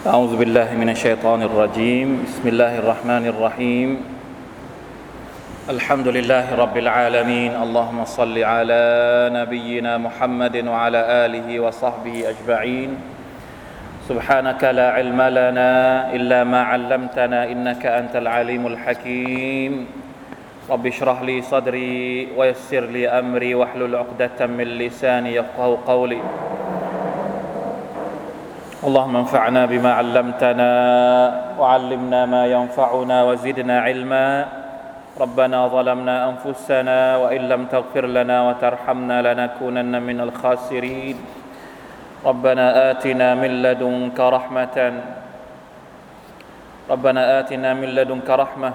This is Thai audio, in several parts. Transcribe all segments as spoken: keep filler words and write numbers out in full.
أعوذ بالله من الشيطان الرجيم بسم الله الرحمن الرحيم الحمد لله رب العالمين اللهم صل على نبينا محمد وعلى آله وصحبه أجمعين سبحانك لا علم لنا إلا ما علمتنا إنك أنت العليم الحكيم رب اشرح لي صدري ويسر لي أمري واحلل عقدة من لساني يفقهوا قولي اللهم انفعنا بما علمتنا وعلمنا ما ينفعنا وزدنا علما ربنا ظلمنا أنفسنا وإن لم تغفر لنا وترحمنا لنكونن من الخاسرين ربنا آتنا من لدنك رحمة ربنا آتنا من لدنك رحمة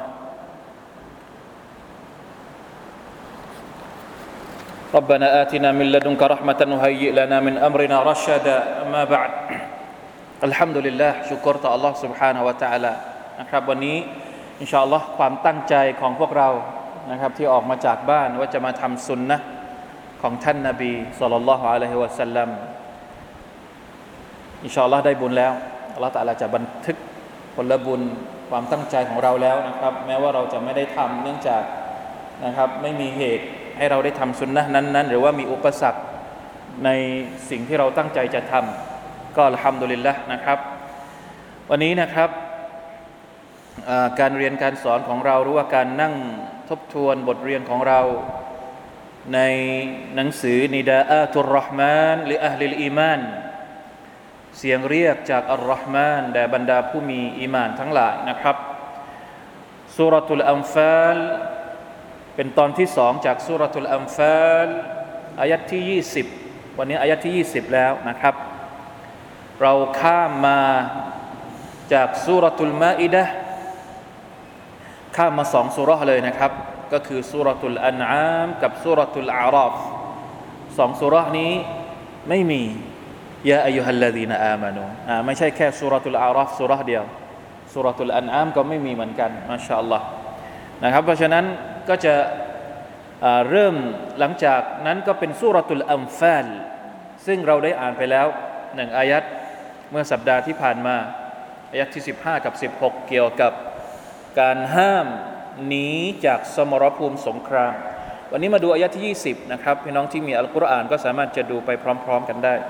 ربنا آتنا من لدنك رحمة وهيئ لنا من أمرنا رشدا أما بعدอัลฮัมดุลิลลาห์ชุกรต่อ Allah سبحانه และ تعالى นะครับวันนี้อินชาอัลลอฮ์ความตั้งใจของพวกเรานะครับที่ออกมาจากบ้านว่าจะมาทำสุนนะห์ของท่านนบีศ็อลลัลลอฮุอะลัยฮิวะซัลลัมอินชาอัลลอฮ์ได้บุญแล้วอัลเลาะห์ตะอาลาจะบันทึกผลบุญความตั้งใจของเราแล้วนะครับแม้ว่าเราจะไม่ได้ทำเนื่องจากนะครับไม่มีเหตุให้เราได้ทำสุนนะห์นั้นๆหรือว่ามีอุปสรรคในสิ่งที่เราตั้งใจจะทำก็อัลฮัมดุลิลละห์นะครับวันนี้นะครับการเรียนการสอนของเราหรือว่าการนั่งทบทวนบทเรียนของเราในหนังสือนิดาอะตุรเราะห์มานลิอะห์ลิลอีมานเสียงเรียกจากอัลเราะห์มานแด่บรรดาผู้มีอีหม่านทั้งหลายนะครับซูเราะตุลอันฟาลเป็นตอนที่สองจากซูเราะตุลอันฟาลอายะห์ที่ยี่สิบวันนี้อายะห์ที่ยี่สิบแล้วนะครับเราข้ามมาจากซูเราะตุลมาอิดะห์ข้ามมาสองซูเราะห์เลยนะครับก็คือซูเราะตุลอันอามกับซูเราะตุลอาราฟสองซูเราะห์นี้ไม่มียาอัยยูฮัลลซีนาอามานูอ่าไม่ใช่แค่ซูเราะตุลอาราฟซูเราะห์เดียวซูเราะตุลอันอามก็ไม่มีเหมือนกันมาชาอัลลอฮ์นะครับเพราะฉะนั้นก็จะเริ่มหลังจากนั้นก็เป็นซูเราะตุลอันฟาลซึ่งเราได้อ่านไปแล้วหนึ่งอายัดเมื่อสัปดาห์ที่ผ่านมาอายัดที่สิบห้ากับสิบหกเกี่ยวกับการห้ามหนีจากสมรภูมิสงครามวันนี้มาดูอายัดที่ยี่สิบนะครับพี่น้องที่มีอัลกุรอานก็สามารถจะดูไปพร้อมๆกันได้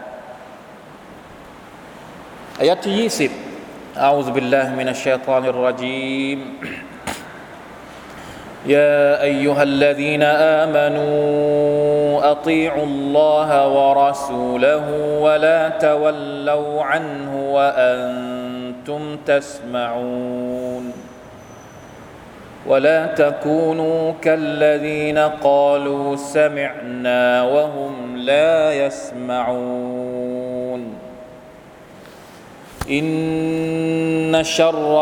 อายัดที่ยี่สิบอะอูซุบิลลาฮิมินัชชัยฏอนิรเราะญีมيا أيها الذين آمنوا أطيعوا الله ورسوله ولا تولوا عنه وأنتم تسمعون ولا تكونوا كالذين قالوا سمعنا وهم لا يسمعون إن شر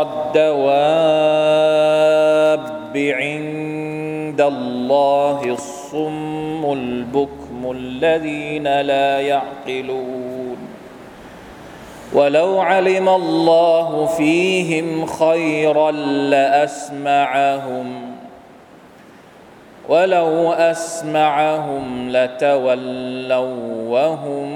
الدواب عند الله الصم البكم الذين لا يعقلون ولو علم الله فيهم خيرا لأسمعهم ولو أسمعهم لتولوا وهم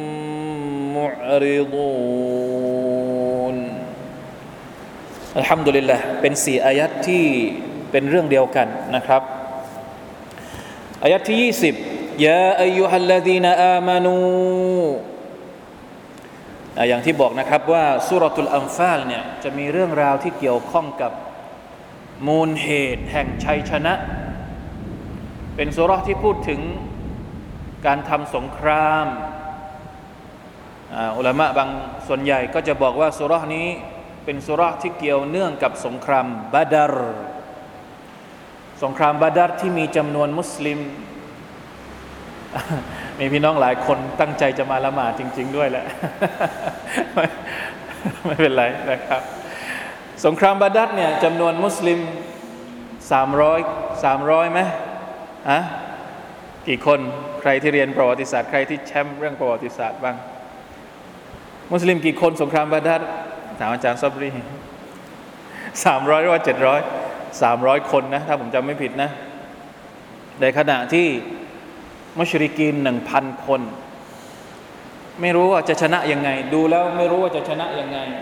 معرضون الحمد لله เป็นสี่อายัดที่เป็นเรื่องเดียวกันนะครับอายะห์ที่ยี่สิบยาอัยยูฮัลลซีนาอามานูอย่างที่บอกนะครับว่าซูเราะตุลอันฟาลเนี่ยจะมีเรื่องราวที่เกี่ยวข้องกับมูลเหตุแห่งชัยชนะเป็นซูเราะห์ที่พูดถึงการทำสงครามอุลามะบางส่วนใหญ่ก็จะบอกว่าซูเราะห์นี้เป็นซูเราะห์ที่เกี่ยวเนื่องกับสงครามบาดรสงครามบาดรที่มีจำนวนมุสลิมมีพี่น้องหลายคนตั้งใจจะมาละหมาดจริงๆด้วยแหละ ไม่ไม่เป็นไรนะครับสงครามบาดรเนี่ยจำนวนมุสลิมสามร้อย สามร้อยไหมอะกี่คนใครที่เรียนประวัติศาสตร์ใครที่แชมป์เรื่องประวัติศาสตร์บ้างมุสลิมกี่คนสงครามบาดรถามอาจารย์ซับรีสามร้อยหรือว่าเจ็ดร้อยสามร้อยคนนะถ้าผมจำไม่ผิดนะในขณะที่มุชริกีน หนึ่งพัน คน ไม่รู้ว่าจะชนะยังไงดูแล้วไม่รู้ว่าจะชนะยังไง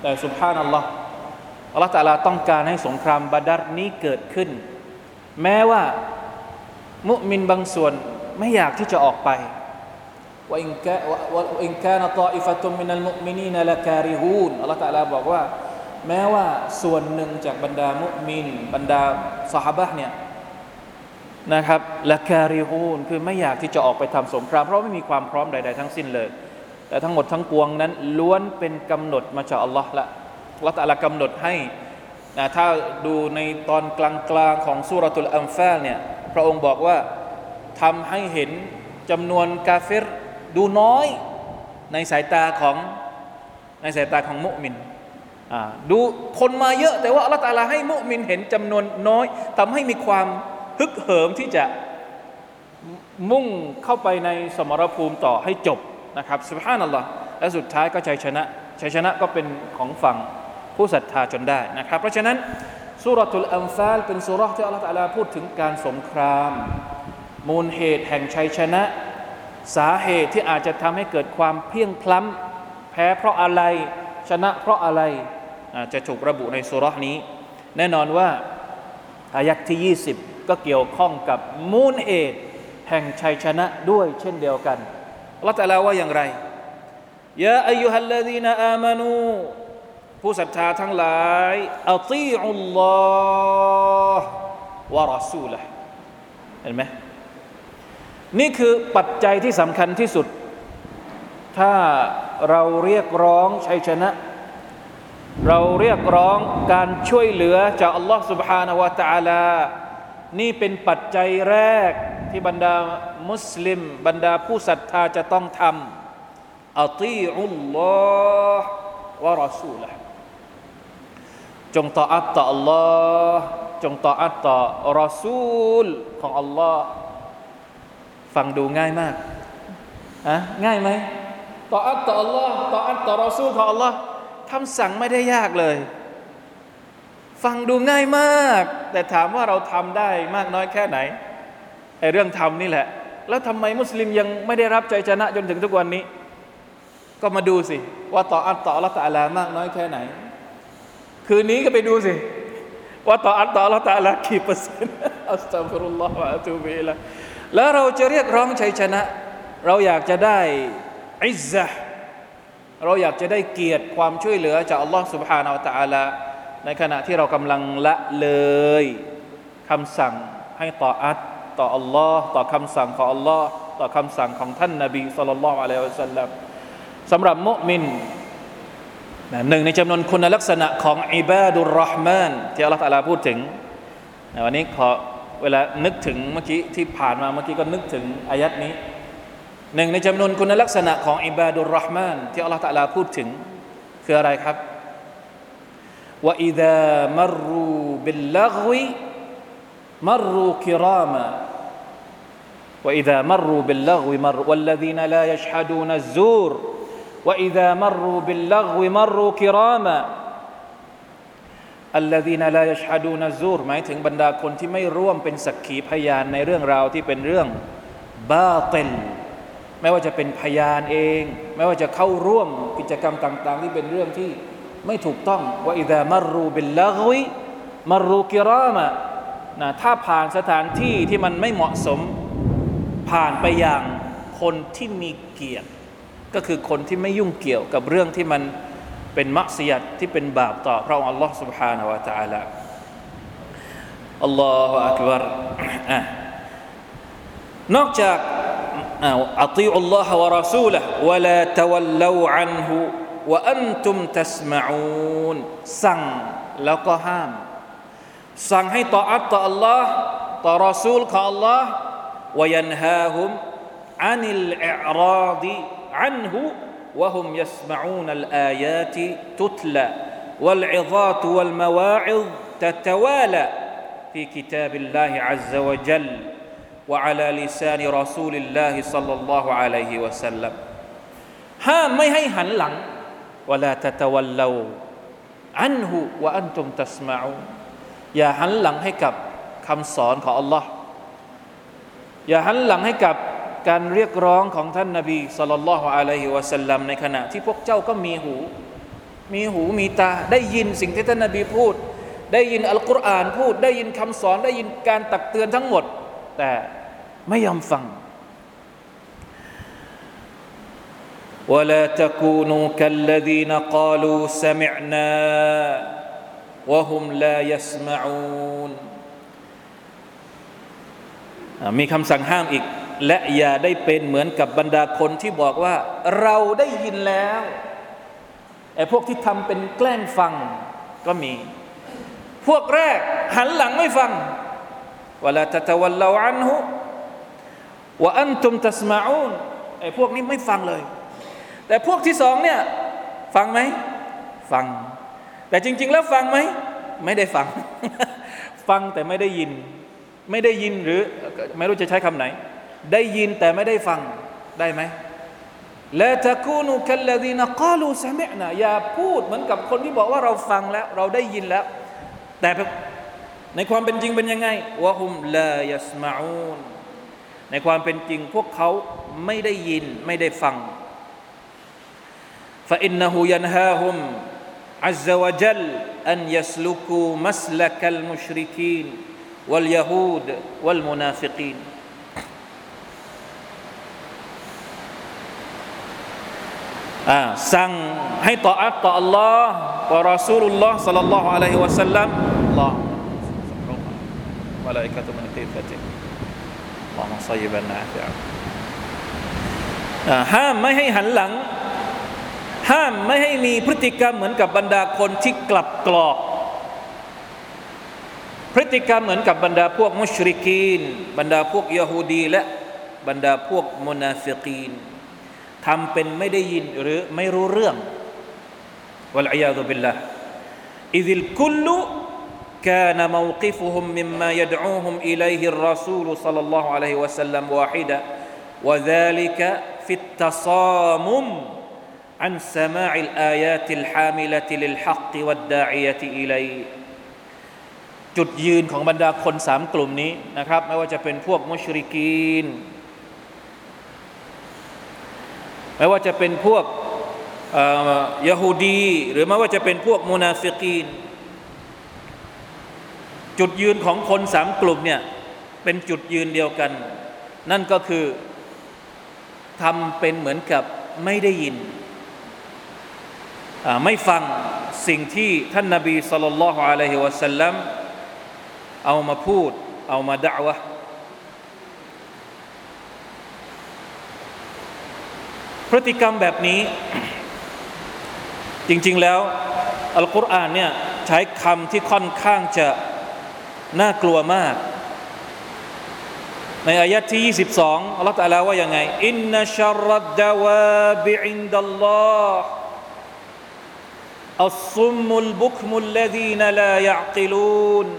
แต่ซุบฮานัลลอฮ์อัลลอฮฺตะอาลาต้องการให้สงครามบาดัรนี้เกิดขึ้นแม้ว่ามุมินบางส่วนไม่อยากที่จะออกไปว่าอินกะว่าอินกานะฏออิฟะตุมมินัลมุอ์มินีนละการิฮูนอัลลอฮฺตะอาลาบอกว่าแม้ว่าส่วนหนึ่งจากบรรดามุมินบรรดาซอฮาบะห์เนี่ยนะครับละการิฮูนคือไม่อยากที่จะออกไปทำสงครามเพราะไม่มีความพร้อมใดๆทั้งสิ้นเลยแต่ทั้งหมดทั้งปวงนั้นล้วนเป็นกำหนดมาจากอัลลอฮ์ละอัลลอฮ์ตะอาลากำหนดให้นะถ้าดูในตอนกลางๆของซูเราะตุลอันฟาลเนี่ยพระองค์บอกว่าทำให้เห็นจำนวนกาเฟรดูน้อยในสายตาของในสายตาของมุมินดูคนมาเยอะแต่ว่าอัลลอฮ์ตะอาลาให้มุมินเห็นจำนวนน้อยทำให้มีความฮึกเหิมที่จะมุ่งเข้าไปในสมรภูมิต่อให้จบนะครับซุบฮานัลลอฮ์และสุดท้ายก็ชัยชนะชัยชนะก็เป็นของฝั่งผู้ศรัทธาจนได้นะครับเพราะฉะนั้นซูเราะตุลอันฟาลเป็นซูเราะห์ที่อัลเลาะห์ตะอาลาพูดถึงการสงครามมูลเหตุแห่งชัยชนะสาเหตุที่อาจจะทำให้เกิดความเพียงพล้ำแพ้เพราะอะไรชนะเพราะอะไรจะถูกระบุในซูเราะห์นี้แน่นอนว่าอายัตที่ยี่สิบก็เกี่ยวข้องกับมูลเหตุแห่งชัยชนะด้วยเช่นเดียวกันอัลเลาะห์ตะอาลาว่าอย่างไรยาอัยยูฮัลลซีนาอามานูผู้ศรัทธาทั้งหลายอัตีอุลลอฮ์วะรอซูละห์เห็นไหมนี่คือปัจจัยที่สำคัญที่สุดถ้าเราเรียกร้องชัยชนะเราเรียกร้องการช่วยเหลือจากอัลลอฮ์ سبحانه และ تعالى นี่เป็นปัจจัยแรกที่บรรดามุสลิมบรรดาผู้ศรัทธาจะต้องทำอัตีอุลลอฮ์วะรอซูละห์จงต่ออัตต่ออัลลอฮ์จงต่ออัตต่อรอซูลของอัลลอฮ์ฟังดูง่ายมากอะง่ายไหมต่ออัตต่ออัลลอฮ์ต่ออัตต่อรอซูลของอัลลอฮ์คำสั่งไม่ได้ยากเลยฟังดูง่ายมากแต่ถามว่าเราทำได้มากน้อยแค่ไหนไอ้เรื่องทำนี่แหละแล้วทำไมมุสลิมยังไม่ได้รับชัยชนะจนถึงทุกวันนี้ก็มาดูสิว่าต่ออัตต่ออัลลอฮ์ตะอาลามากน้อยแค่ไหนคืนนี้ก็ไปดูสิว่าต่ออัตต่ออัลลอฮ์ตะอาลากี่เปอร์เซ็นต์อัสตัฆฟิรุลลอฮ์วะอะตูบิอิลัยฮิแล้วเราจะเรียกร้องชัยชนะเราอยากจะได้อิซซะห์เราอยากจะได้เกียรติความช่วยเหลือจากอัลลอฮ์ سبحانه และ تعالى ในขณะที่เรากำลังละเลยคำสั่งให้ต่ออัตต่ออัลลอฮ์ต่อคำสั่งของอัลลอฮ์ต่อคำสั่งของท่านนบีศ็อลลัลลอฮุอะลัยฮิวะซัลลัมสำหรับมุมินหนึ่งในจำนวนคุณลักษณะของอิบาดุรเราะห์มานที่อัลลอฮ์ตะอาลาพูดถึงวันนี้ขอเวลานึกถึงเมื่อกี้ที่ผ่านมาเมื่อกี้ก็นึกถึงอายัดนี้หนึ่งในจำนวนคุณลักษณะของอิบาดุรเราะห์มานที่อัลลอฮ์ตะอาลาพูดถึงคืออะไรครับวะอิซามัรรูบิลลัฆวิมัรรูกิรามา وإذا مروا باللغو مروا والذين لا يشهدون الزور وإذا مروا باللغو مروا كراما الذين لا يشهدون الزور หมายถึงบรรดาคนที่ไม่ร่วมเป็นสักขีพยานในเรื่องราวที่เป็นเรื่องบาติลไม่ว่าจะเป็นพยานเองไม่ว่าจะเข้าร่วมกิจกรรมต่างๆที่เป็นเรื่องที่ไม่ถูกต้องว่าอิซามัรรูบิลลัฆวิมัรรูกิรามานะถ้าผ่านสถานที่ที่มันไม่เหมาะสมผ่านไปอย่างคนที่มีเกียรติก็คือคนที่ไม่ยุ่งเกี่ยวกับเรื่องที่มันเป็นมักซิยัตที่เป็นบาปต่อพระองค์อัลลอฮ์ سبحانه และ تعالى อัลลอฮฺอักบัรนอกจากอัติอุลลอฮฺวะรอซูละห์วะลาตะวัลลูอันฮุวะอันตุมตัสมะอูนสั่งแล้วก็ห้ามสั่งให้ต่ออัตต่ออัลลอฮ์ต่อรอซูลของอัลลอฮ์وينهاهم عن الإعراض عنه وهم يسمعون الآيات تتلى والعظات والمواعظ تتوالى في كتاب الله عز وجل وعلى لسان رسول الله صلى الله عليه وسلم ห้ามไม่ให้หันหลัง ولا تتولوا عنه وأنتم تسمعون อย่าหันหลังให้กับคำสอนของอัลลอฮ์อย่าหันหลังให้กับการเรียกร้องของท่านนบีศ็อลลัลลอฮุอะลัยฮิวะซัลลัมในขณะที่พวกเจ้าก็มีหูมีหูมีตาได้ยินสิ่งที่ท่านนบีพูดได้ยินอัลกุรอานพูดได้ยินคำสอนได้ยินการตักเตือนทั้งหมดแต่ไม่ยอมฟังولا تكونوا كالذين قالوا سمعنا وهم لا يسمعون มีคำสั่งห้ามอีกและอย่าได้เป็นเหมือนกับบรรดาคนที่บอกว่าเราได้ยินแล้วไอ้พวกที่ทำเป็นแกล้งฟังก็มีพวกแรกหันหลังไม่ฟังวะลาตะตะวัลลาอันฮุวะอันตุมตัสมะอูนไอ้พวกนี้ไม่ฟังเลยแต่พวกที่สองเนี่ยฟังไหมฟังแต่จริงๆแล้วฟังไหมไม่ได้ฟัง ฟังแต่ไม่ได้ยินไม่ได้ยินหรือไม่รู้จะใช้คำไหนได้ยินแต่ไม่ได้ฟังได้ไหมลาตะกูนูคัลลซีนะกาลูซะมิอ์นาอย่าพูดเหมือนกับคนที่บอกว่าเราฟังแล้วเราได้ยินแล้วแต่ในความเป็นจริงเป็นยังไงวะฮุมลายัสมะอูนในความเป็นจริงพวกเขาไม่ได้ยินไม่ได้ฟังفإنه ينهاهم عز وجل أن يسلكوا مسلك المشركين واليهود والمنافقين อ่าสั่งให้ตออัตต่อ Allah ต่อ Rasulullah ศ็อลลัลลอฮุอะลัยฮิวะซัลลัม Allah มะลาอิกะตุมินกีฟะติอัลลอฮุมศ็อยยิบันนาฟิอะอ่าห้ามไม่ให้หันหลังห้ามไม่ให้มีพฤติกรรมเหมือนกับบรรดาคนที่กลับกรอกพฤติกรรมเหมือนกับบรรดาพวกมุชริกีนบรรดาพวกยะฮูดีและบรรดาพวกมุนาฟิกีนทำเป็นไม่ได้ยินหรือไม่รู้เรื่องวัลอียาซุบิลลาห์อิซิลกุลลุكان موقفهم مما يدعوهم إليه الرسول صلى الله عليه وسلم واحدا وذلك في التصامم عن سماع الآيات الحاملة للحق والداعية إليه จุดยืนของบรรดาคนสามกลุ่มนี้นะครับไม่ว่าจะเป็นพวกมุชริกีนไม่ว่าจะเป็นพวกยะฮูดีหรือไม่ว่าจะเป็นพวกมุนาฟิกีนจุดยืนของคนสามกลุ่มเนี่ยเป็นจุดยืนเดียวกันนั่นก็คือทำเป็นเหมือนกับไม่ได้ยินไม่ฟังสิ่งที่ท่านนบีศ็อลลัลลอฮุอะลัยฮิวะซัลลัมเอามาพูดเอามาดะอ์วะห์พฤติกรรมแบบนี้จริงๆแล้วอัลกุรอานเนี่ยใช้คำที่ค่อนข้างจะน่ากลัวมากในอายะห์ที่ยี่สิบสองอัลเลาะห์ตะอาลาว่ายังไงอินนะชัรรัดดาวาบิอินดัลลอฮ์อัศซุมมุลบุคมุลลซีนลายะอ์กิลูน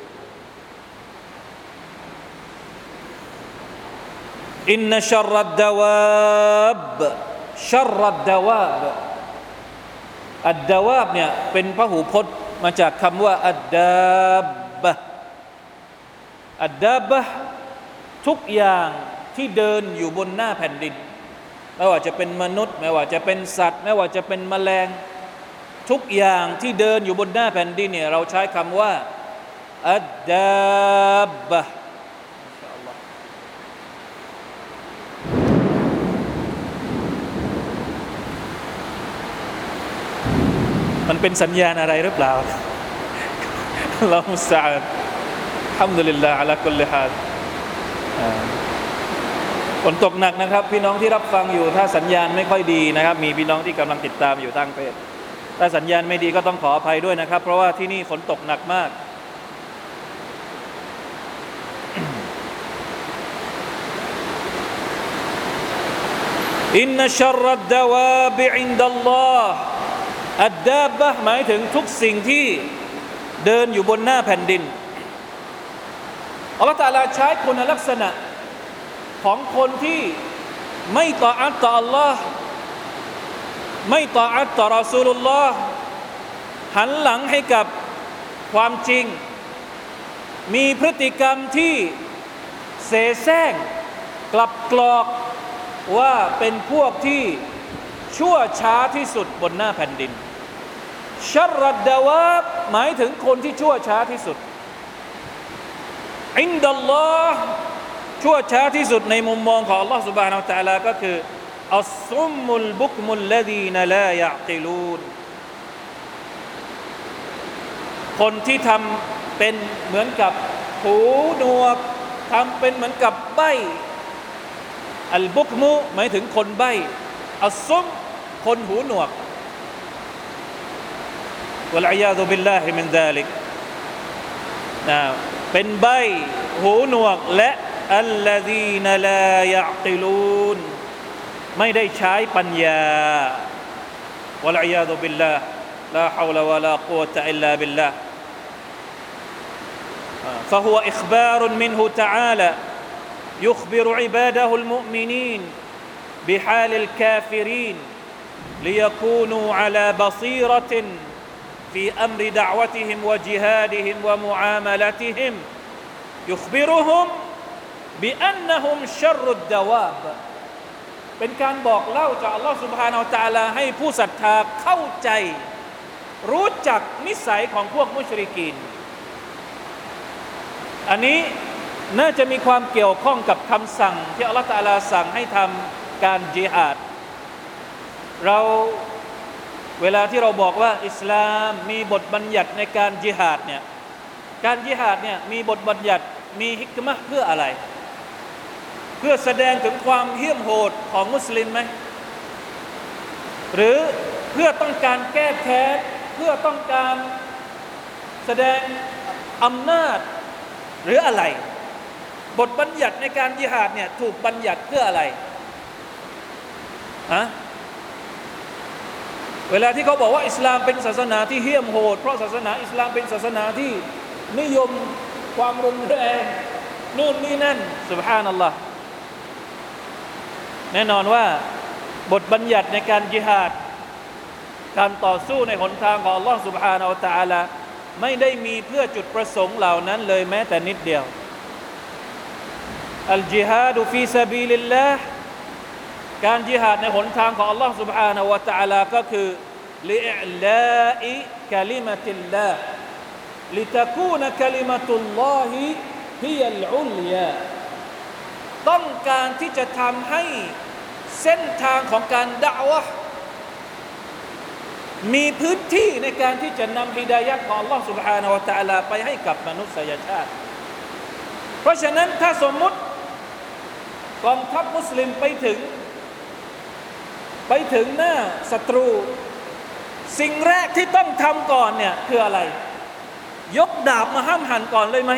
อินนะชัรรัดดาวาบชัรรัดดาวาบอัดดาวาบเนี่ยเป็นพหูพจน์มาจากคำว่าอัดดาบบะอัดดาบบะทุกอย่างที่เดินอยู่บนหน้าแผ่นดินไม่ว่าจะเป็นมนุษย์ไม่ว่าจะเป็นสัตว์ไม่ว่าจะเป็นแมลงทุกอย่างที่เดินอยู่บนหน้าแผ่นดินเนี่ยเราใช้คำว่าอัดดาบบะมันเป็นสัญญาณอะไรหรือเปล่าอัลลอฮุมุสตะอาน์อัลฮัมดุลิลลาฮ์อะลากุลลิฮาลฝนตกหนักนะครับพี่น้องที่รับฟังอยู่ถ้าสัญญาณไม่ค่อยดีนะครับมีพี่น้องที่กำลังติดตามอยู่ทางเพจถ้าสัญญาณไม่ดีก็ต้องขออภัยด้วยนะครับเพราะว่าที่นี่ฝนตกหนักมากอินนัชชัรรัดดาวาบิอินดัลลอฮ์อัดดาบบะหมายถึงทุกสิ่งที่เดินอยู่บนหน้าแผ่นดินอัลเลาะห์ตะอาลาใช้คุณลักษณะของคนที่ไม่ตออะห์ต่ออัลลอฮ์ไม่ตออะห์ต่อรอซูลุลลอฮ์หันหลังให้กับความจริงมีพฤติกรรมที่เสแสร้งกลับกรอกว่าเป็นพวกที่ชั่วช้าที่สุดบนหน้าแผ่นดินชัรรัดดาวาบหมายถึงคนที่ชั่วช้าที่สุดอินดัลลอฮ์ชั่วช้าที่สุดในมุมมองของ Allah سبحانه และ تعالى ก็คืออัศซุมมุลบุกมุลลดีนลายะกิลูนคนที่ทำเป็นเหมือนกับหูหนวกทำเป็นเหมือนกับใบ้อัลบุกมุหมายถึงคนใบ้อัศซุมคนหูหนวกวัลอียาซุบิลลาฮิมินซาลิกนะเป็นใบ้หูหนวกและอัลลดีนลายะกิลูนไม่ได้ใช้ปัญญาวะลัยยาซุบิลลาห์ลาฮาวละวะลากุวะตะอิลลาบิลลาห์ فهو إخبار منه تعالى يخبر عباده المؤمنين بحال الكافرين ليكونوا على بصيرة في أمر دعوتهم وجهادهم ومعاملتهم يخبرهم بأنهم شر الدوابเป็นการบอกเล่าจากอัลลอฮฺซุบฮานะฮูวะตะอาลาให้ผู้ศรัทธาเข้าใจรู้จักนิสัยของพวกมุชริกีนอันนี้น่าจะมีความเกี่ยวข้องกับคำสั่งที่อัลลอฮฺตะอาลาสั่งให้ทำการญิฮาดเราเวลาที่เราบอกว่าอิสลามมีบทบัญญัติในการญิฮาดเนี่ยการญิฮาดเนี่ยมีบทบัญญัติมีฮิกมะห์เพื่ออะไรเพื่อแสดงถึงความเหี้ยมโหดของมุสลิมไหมหรือเพื่อต้องการแก้แค้นเพื่อต้องการแสดงอำนาจหรืออะไรบทบัญญัติในการญิฮาดเนี่ยถูกบัญญัติเพื่ออะไรฮะเวลาที่เขาบอกว่าอิสลามเป็นศาสนาที่เหี้ยมโหดเพราะศาสนาอิสลามเป็นศาสนาที่นิยมความรุนแรงนู่นนี่นั่นซุบฮานัลลอฮ์แน่นอนว่าบทบัญญัติในการญิฮาดการต่อสู้ในหนทางของอัลลอฮ์ سبحانه และ تعالى ไม่ได้มีเพื่อจุดประสงค์เหล่านั้นเลยแม้แต่นิดเดียวอัลญิฮาดฟีซะบีลิลลาห์การญิฮาดในหนทางของอัลลอฮ์ سبحانه และ تعالى ก็คือลิอิลาอิกะลิมะติลลาห์ลิตะกูนกะลิมะตุลลอฮิฮิยัลอุลยาต้องการที่จะทำให้เส้นทางของการดะอ์วะห์มีพื้นที่ในการที่จะนำฮิดายะห์ของ Allah سبحانه และ تعالى ไปให้กับมนุษยชาติเพราะฉะนั้นถ้าสมมุติกองทัพมุสลิมไปถึงไปถึงหน้าศัตรูสิ่งแรกที่ต้องทำก่อนเนี่ยคืออะไรยกดาบมาห้ามหันก่อนเลยไหม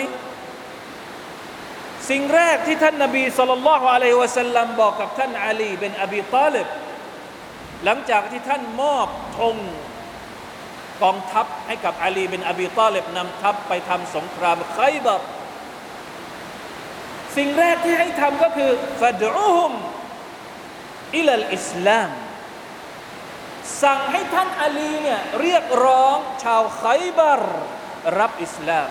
สิ่งแรกที่ท่านนบีศ็อลลัลลอฮุอะลัยฮิวะซัลลัมบอกกับท่านอาลีบินอบีฏอลิบหลังจากที่ท่านมอบธงกองทัพให้กับอาลีบินอบีฏอลิบนำทัพไปทำสงครามไคบัรสิ่งแรกที่ให้ทำก็คือฟัดอูฮุมอิลัลอิสลามสั่งให้ท่านอาลีเนี่ยเรียกร้องชาวไคบัรรับอิสลาม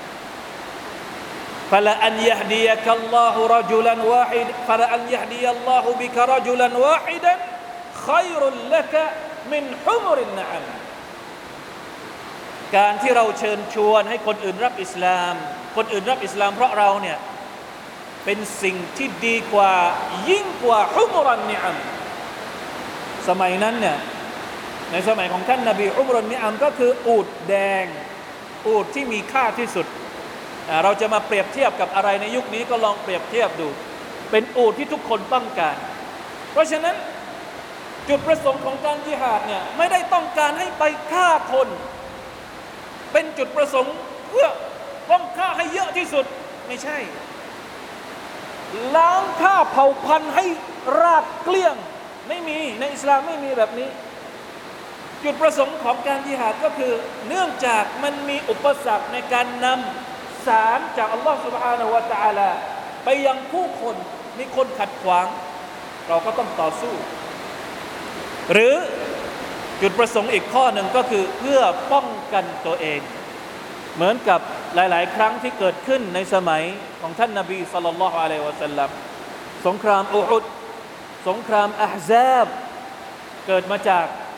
فلأن يهديك الله رجلا واحد فلأن يهدي الله بك رجلا واحدا خير لك من حمر النعم การที่เราเชิญชวนให้คนอื่นรับอิสลามคนอื่นรับอิสลามเพราะเราเนี่ยเป็นสิ่งที่ดีกว่ายิ่งกว่าฮุมรันนิอัมสมัยนั้นเนี่ยในสมัยของท่านนบีฮุมรันนิอัมก็คืออูฐแดงอูฐที่มีค่าที่สุดเราจะมาเปรียบเทียบกับอะไรในยุคนี้ก็ลองเปรียบเทียบดูเป็นอูฐที่ทุกคนต้องการเพราะฉะนั้นจุดประสงค์ของการญิฮาดเนี่ยไม่ได้ต้องการให้ไปฆ่าคนเป็นจุดประสงค์เพื่อต้องฆ่าให้เยอะที่สุดไม่ใช่ล้างฆ่าเผ่าพันธุ์ให้ราบเกลี้ยงไม่มีในอิสลามไม่มีแบบนี้จุดประสงค์ของการญิฮาดก็คือเนื่องจากมันมีอุปสรรคในการนำสารจากอัลลอฮฺ سبحانه และ تعالى ไปยังผู้คนมีคนขัดขวางเราก็ต้องต่อสู้หรือจุดประสงค์อีกข้อหนึ่งก็คือเพื่อป้องกันตัวเองเหมือนกับหลายๆครั้งที่เกิดขึ้นในสมัยของท่านนบีศ็อลลัลลอฮุอะลัยฮิวะซัลลัมสงครามอูฮุดสงครามอะห์ซาบเกิดมาจาก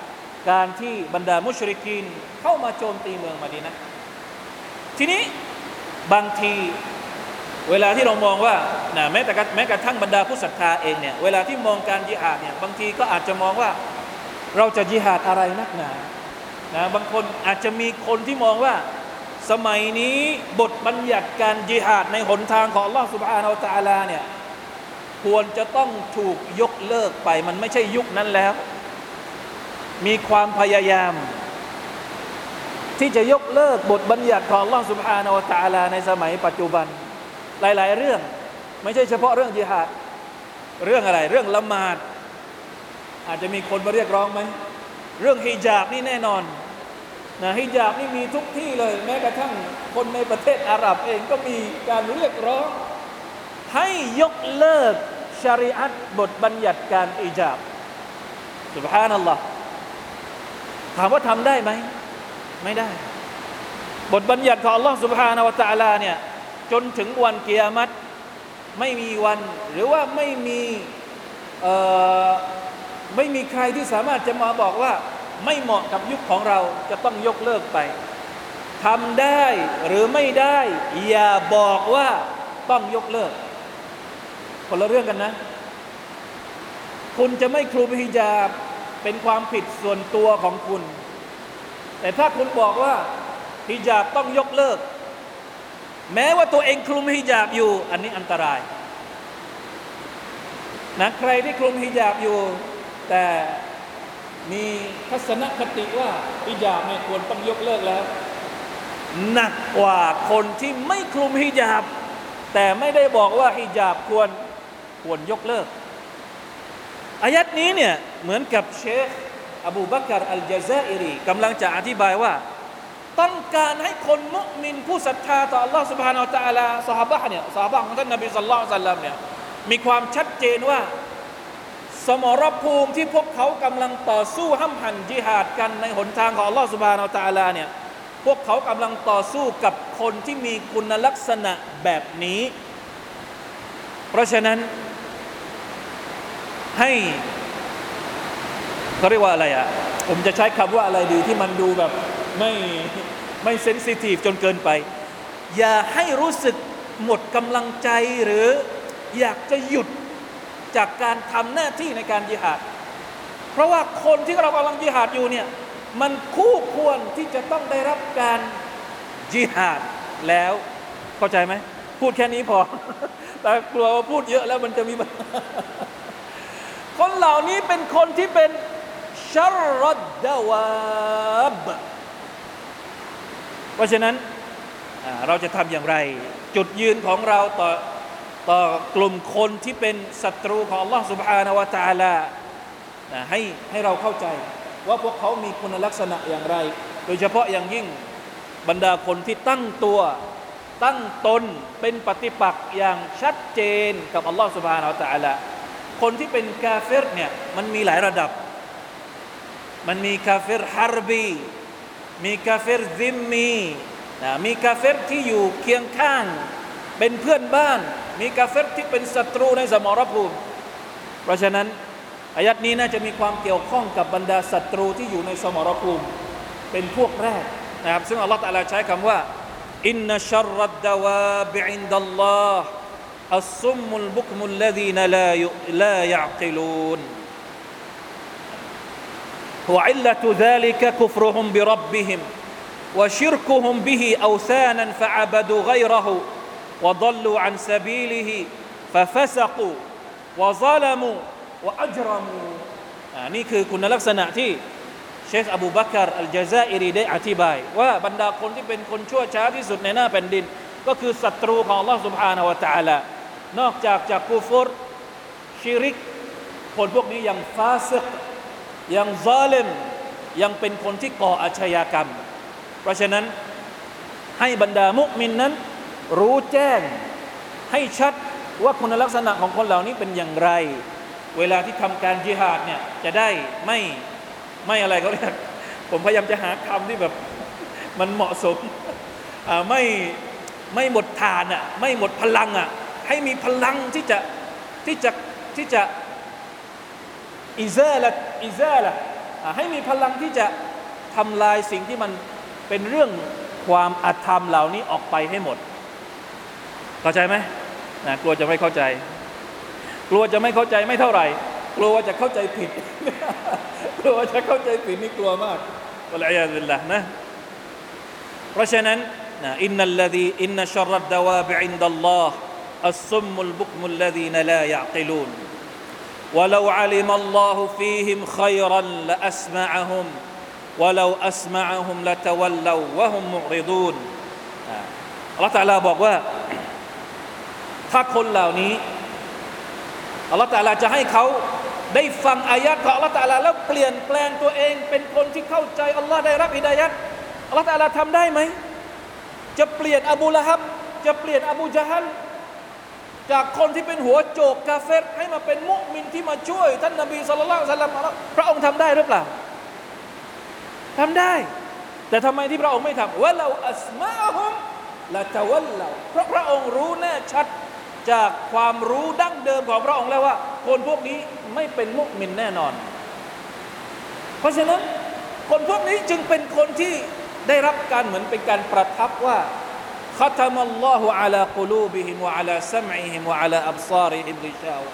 การที่บรรดามุชริกีนเข้ามาโจมตีเมืองมะดีนะห์ทีนี้บางทีเวลาที่เรามองว่านะแม้แต่แม้กระทั่งบรรดาผู้ศรัทธาเองเนี่ยเวลาที่มองการญิฮาดเนี่ยบางทีก็อาจจะมองว่าเราจะญิฮาดอะไรนักหนานะบางคนอาจจะมีคนที่มองว่าสมัยนี้บทบัญญัติการญิฮาดในหนทางของอัลเลาะห์ซุบฮานะฮูวะตะอาลาเนี่ยควรจะต้องถูกยกเลิกไปมันไม่ใช่ยุคนั้นแล้วมีความพยายามที่จะยกเลิกบทบัญญัติของอัลเลาะห์ซุบฮานะฮูวะตะอาลาในสมัยปัจจุบันหลายๆเรื่องไม่ใช่เฉพาะเรื่องญิฮาดเรื่องอะไรเรื่องละหมาดอาจจะมีคนมาเรียกร้องไหมเรื่องฮิญาบนี่แน่นอนนะฮิญาบนี่มีทุกที่เลยแม้กระทั่งคนในประเทศอาหรับเองก็มีการเรียกร้องให้ยกเลิกชะรีอะห์บทบัญญัติการฮิญาบซุบฮานัลลอฮ์ถามว่าทำได้ไหมไม่ได้บทบัญญัติของอัลเลาะห์ซุบฮานะฮูวะตะอาลาเนี่ยจนถึงวันกิยามะฮ์ไม่มีวันหรือว่าไม่มีเอ่อไม่มีใครที่สามารถจะมาบอกว่าไม่เหมาะกับยุคของเราจะต้องยกเลิกไปทำได้หรือไม่ได้อย่าบอกว่าต้องยกเลิกคนละเรื่องกันนะคุณจะไม่คลุมฮิญาบเป็นความผิดส่วนตัวของคุณแต่ถ้าคุณบอกว่าฮิญาบต้องยกเลิกแม้ว่าตัวเองคลุมฮิญาบอยู่อันนี้อันตรายนะใครที่คลุมฮิญาบอยู่แต่มีทัศนคติว่าฮิญาบไม่ควรต้องยกเลิกแล้วหนักกว่าคนที่ไม่คลุมฮิญาบแต่ไม่ได้บอกว่าฮิญาบควรควรยกเลิกอายัดนี้เนี่ยเหมือนกับเชคอบูบักรอัลญะซาอิรีกำลังจะอธิบายว่าต้องการให้คนมุมินผู้ศรัทธาต่อ Allah Subhanahu Wa Taala ซอฮาบะห์เนี่ยซอฮาบะห์ของท่านนบีศ็อลลัลลอฮุอะลัยฮิวะซัลลัมเนี่ยมีความชัดเจนว่าสมรภูมิที่พวกเขากำลังต่อสู้ห้ำหั่นญิฮาดกันในหนทางของ Allah Subhanahu Wa Taala เนี่ยพวกเขากำลังต่อสู้กับคนที่มีคุณลักษณะแบบนี้เพราะฉะนั้นให้เขาเรียกว่าอะไรอ่ะผมจะใช้คำว่าอะไรดีที่มันดูแบบไม่ไม่เซนซิทีฟจนเกินไปอย่าให้รู้สึกหมดกำลังใจหรืออยากจะหยุดจากการทำหน้าที่ในการญิฮาดเพราะว่าคนที่เรากำลังญิฮาดอยู่เนี่ยมันคู่ควรที่จะต้องได้รับการญิฮาดแล้วเข้าใจไหมพูดแค่นี้พอ แต่กลัวว่าพูดเยอะแล้วมันจะมีคนเหล่านี้เป็นคนที่เป็นชัรรัดดาวาบเพราะฉะนั้นเราจะทำอย่างไรจุดยืนของเราต่อต่อกลุ่มคนที่เป็นศัตรูของ Allah Subhanahu Wa Taala ให้ให้เราเข้าใจว่าพวกเขามีคุณลักษณะอย่างไรโดยเฉพาะอย่างยิ่งบรรดาคนที่ตั้งตัวตั้งตนเป็นปฏิปักษ์อย่างชัดเจนกับ Allah Subhanahu Wa Taala คนที่เป็นกาเฟรเนี่ยมันมีหลายระดับมันมีกาเฟรฮาร์บีมีกาเฟรซิมมีนะมีกาเฟรที่อยู่เคียงข้างเป็นเพื่อนบ้านมีกาเฟรที่เป็นศัตรูในสมรภูมิเพราะฉะนั้นอายัดนี้น่าจะมีความเกี่ยวข้องกับบรรดาศัตรูที่อยู่ในสมรภูมิเป็นพวกแรกนะครับซึ่งอัลลอฮฺตะอาลาใช้คำว่าอินนัชชัรรัดดาวาบิอินดัลลอฮฺอัสซุมมุลบุกมุลลซีนลาลายะกิลูนوعلة ذلك كفرهم بربهم وشركهم به أوثانا فعبدوا غيره وضلوا عن سبيله ففسقوا وظلموا وأجرموا นี่คือคุณลักษณะที่เชคอบูบักรอัลญะซาอิรีได้อธิบายว่าบรรดาคนที่เป็นคนชั่วช้าที่สุดในหน้าแผ่นดินก็คือศัตรูของ Allah Subhanahu Wa Taala นอกจากจากกุฟรชิริกคนพวกนี้ยังฟาซิกยังซาลิมยังเป็นคนที่ก่ออาชญากรรมเพราะฉะนั้นให้บรรดามุมินนั้นรู้แจ้งให้ชัดว่าคุณลักษณะของคนเหล่านี้เป็นอย่างไรเวลาที่ทำการญิฮาดเนี่ยจะได้ไม่ไม่อะไรเขาเรียกผมพยายามจะหาคำที่แบบมันเหมาะสมไม่ไม่หมดฐานอ่ะไม่หมดพลังอ่ะให้มีพลังที่จะที่จะที่จะอิซาละอิซาละให้มีพลังที่จะทำลายสิ่งที่มันเป็นเรื่องความอธรรมเหล่านี้ออกไปให้หมดเข้าใจไหมนะกลัวจะไม่เข้าใจกลัวจะไม่เข้าใจไม่เท่าไหร่กลัวว่าจะเข้าใจผิดกลัวว่าจะเข้าใจผิดนี่กลัวมากวะลัยยาซุบิลลาห์นะเพราะฉะนั้นนะอินนัลลซีอินนัชัรรัดดาวาบิอินดัลลอฮ์อัสซุมมุลบุกมุลลซีนลายะอ์กิลูนولو علم الله فيهم خيرا لأسمعهم ولو أسمعهم لتولوا وهم معرضون อัลเลาะห์ตะอาลาบอกว่าถ้าคนเหล่านี้อัลเลาะห์ตะอาลาจะให้เขาได้ฟังอายะห์ของอัลเลาะห์ตะอาลาแล้วเปลี่ยนแปลงตัวเองเป็นคนที่เข้าใจอัลเลาะห์ได้รับฮิดายะห์อัลเลาะห์ตะอาลาทำได้ไหมจะเปลี่ยนอบูละฮับจะเปลี่ยนอบูญะฮัลจากคนที่เป็นหัวโจกกาเฟรให้มาเป็นมุมินที่มาช่วยท่านนบีศ็อลลัลลอฮุอะลัยฮิวะซัลลัมพระองค์ทำได้หรือเปล่าทำได้แต่ทำไมที่พระองค์ไม่ทำวะลาอัสมาอะฮุมละตะวัลลาเพราะพระองค์รู้แน่ชัดจากความรู้ดั้งเดิมของพระองค์แล้วว่าคนพวกนี้ไม่เป็นมุมินแน่นอนเพราะฉะนั้นคนพวกนี้จึงเป็นคนที่ได้รับการเหมือนเป็นการประทับว่าختم الله على قلوبهم وعلى سمعهم وعلى أبصارهم غشاوة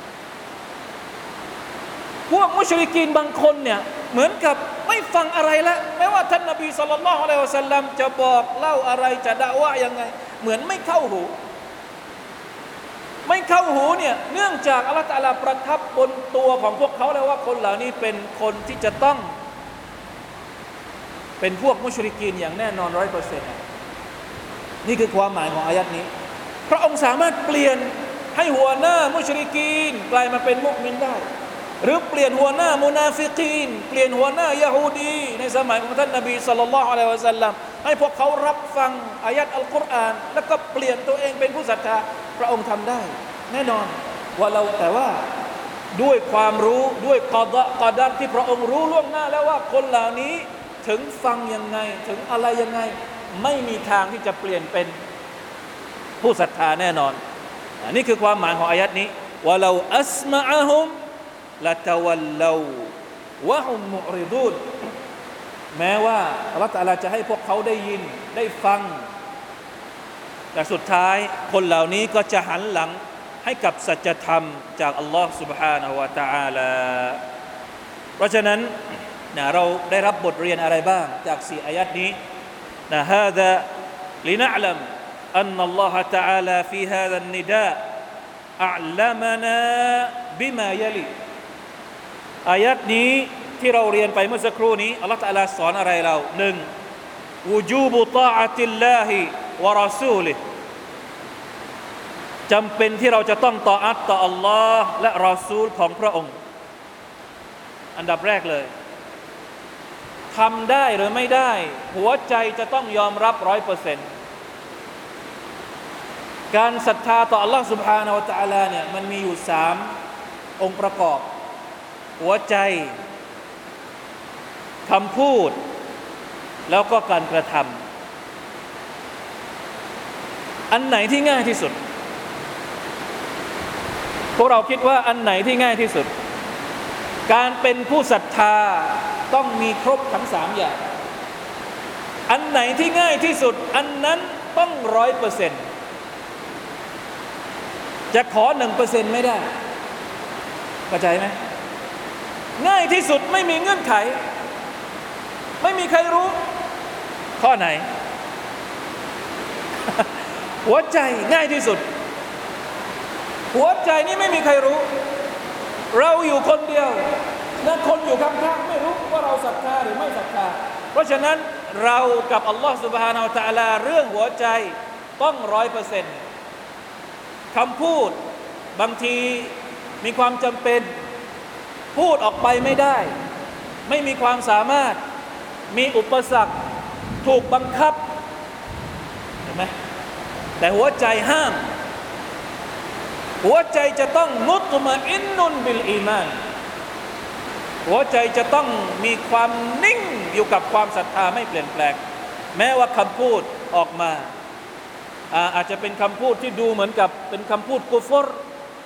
พวกมุชริกีนบางคนเนี่ยเหมือนกับไม่ฟังอะไรละแม้ว่าท่านนบีศ็อลลัลลอฮุอะลัยฮิวะซัลลัมจะบอกเล่าอะไรจะดะวะห์ยังไงเหมือนไม่เข้าหูไม่เข้าหูเนี่ยเนื่องจากอัลเลาะห์ตะอาลาประทับบนตัวของพวกเขาแล้วว่าคนเหล่านี้เป็นคนที่จะต้องเป็นพวกมุชริกีนอย่างแน่นอน ร้อยเปอร์เซ็นต์นี่คือความหมายของอายัดนี้พระองค์สามารถเปลี่ยนให้หัวหน้ามุชริกีนกลายมาเป็นมุมินได้หรือเปลี่ยนหัวหน้ามุนาฟิกีนเปลี่ยนหัวหน้ายะฮูดีในสมัยของท่านนบีศ็อลลัลลอฮุอะลัยฮิวะซัลลัมให้พวกเขารับฟังอายัดอัลกุรอานแล้วก็เปลี่ยนตัวเองเป็นผู้ศรัทธาพระองค์ทำได้แน่นอนว่าเราแต่ว่าด้วยความรู้ด้วยกอฎอกอดัรที่พระองค์รู้ล่วงหน้าแล้วว่าคนเหล่านี้ถึงฟังยังไงถึงอะไรยังไงไม่มีทางที่จะเปลี่ยนเป็นผู้ศรัทธาแน่นอนอันนี้คือความหมายของอายัดนี้วะลาอัสมะอะฮุมละตะวัลลาวะฮุมมุอริดูนแม้ว่าอัลเลาะห์ตะอาลาจะให้พวกเขาได้ยินได้ฟังแต่สุดท้ายคนเหล่านี้ก็จะหันหลังให้กับสัจธรรมจากอัลลอฮ์ سبحانه และ تعالى เพราะฉะนั้นนะเราได้รับบทเรียนอะไรบ้างจากสี่อายัดนี้นะฮาซาลินะอ์ลัมอันนัลลอฮะตะอาลาฟีฮาซาอันนิดาอัลลัมนาบิมายะลิอายัดนี้ที่เราเรียนไปเมื่อสักครู่นี้อัลเลาะห์ตะอาลาสอนอะไรเราหนึ่งวุจูบุฏออะติลลาฮิวะรอซูลิฮิจำเป็นที่เราจะต้องต่ออัตต่ออัลลอฮ์และรอซูลของพระองค์อันดับแรกเลยทำได้หรือไม่ได้หัวใจจะต้องยอมรับ ร้อยเปอร์เซ็นต์ การศรัทธาต่ออัลลอฮ์ سبحانه และ تعالى เนี่ยมันมีอยู่สามองค์ประกอบหัวใจคำพูดแล้วก็การกระทำอันไหนที่ง่ายที่สุดพวกเราคิดว่าอันไหนที่ง่ายที่สุดการเป็นผู้ศรัทธาต้องมีครบทั้งสามอย่างอันไหนที่ง่ายที่สุดอันนั้นต้องร้อยเปอร์เซ็นต์จะขอหนึ่งเปอร์เซ็นต์ไม่ได้เข้าใจไหมง่ายที่สุดไม่มีเงื่อนไขไม่มีใครรู้ข้อไหน หัวใจง่ายที่สุดหัวใจนี่ไม่มีใครรู้เราอยู่คนเดียวและคนอยู่ข้างๆไม่รู้ว่าเราศรัทธาหรือไม่ศรัทธาเพราะฉะนั้นเรากับอัลลอฮฺ سبحانه และ تعالى เรื่องหัวใจต้อง ร้อยเปอร์เซ็นต์ คำพูดบางทีมีความจำเป็นพูดออกไปไม่ได้ไม่มีความสามารถมีอุปสรรคถูกบังคับเห็นไหมแต่หัวใจห้ามหัวใจจะต้องมุตมะอินนุนบิลอีมานหัวใจจะต้องมีความนิ่งอยู่กับความศรัทธาไม่เปลี่ยนแปลงแม้ว่าคำพูดออกมาอาอาจจะเป็นคำพูดที่ดูเหมือนกับเป็นคำพูดกุฟร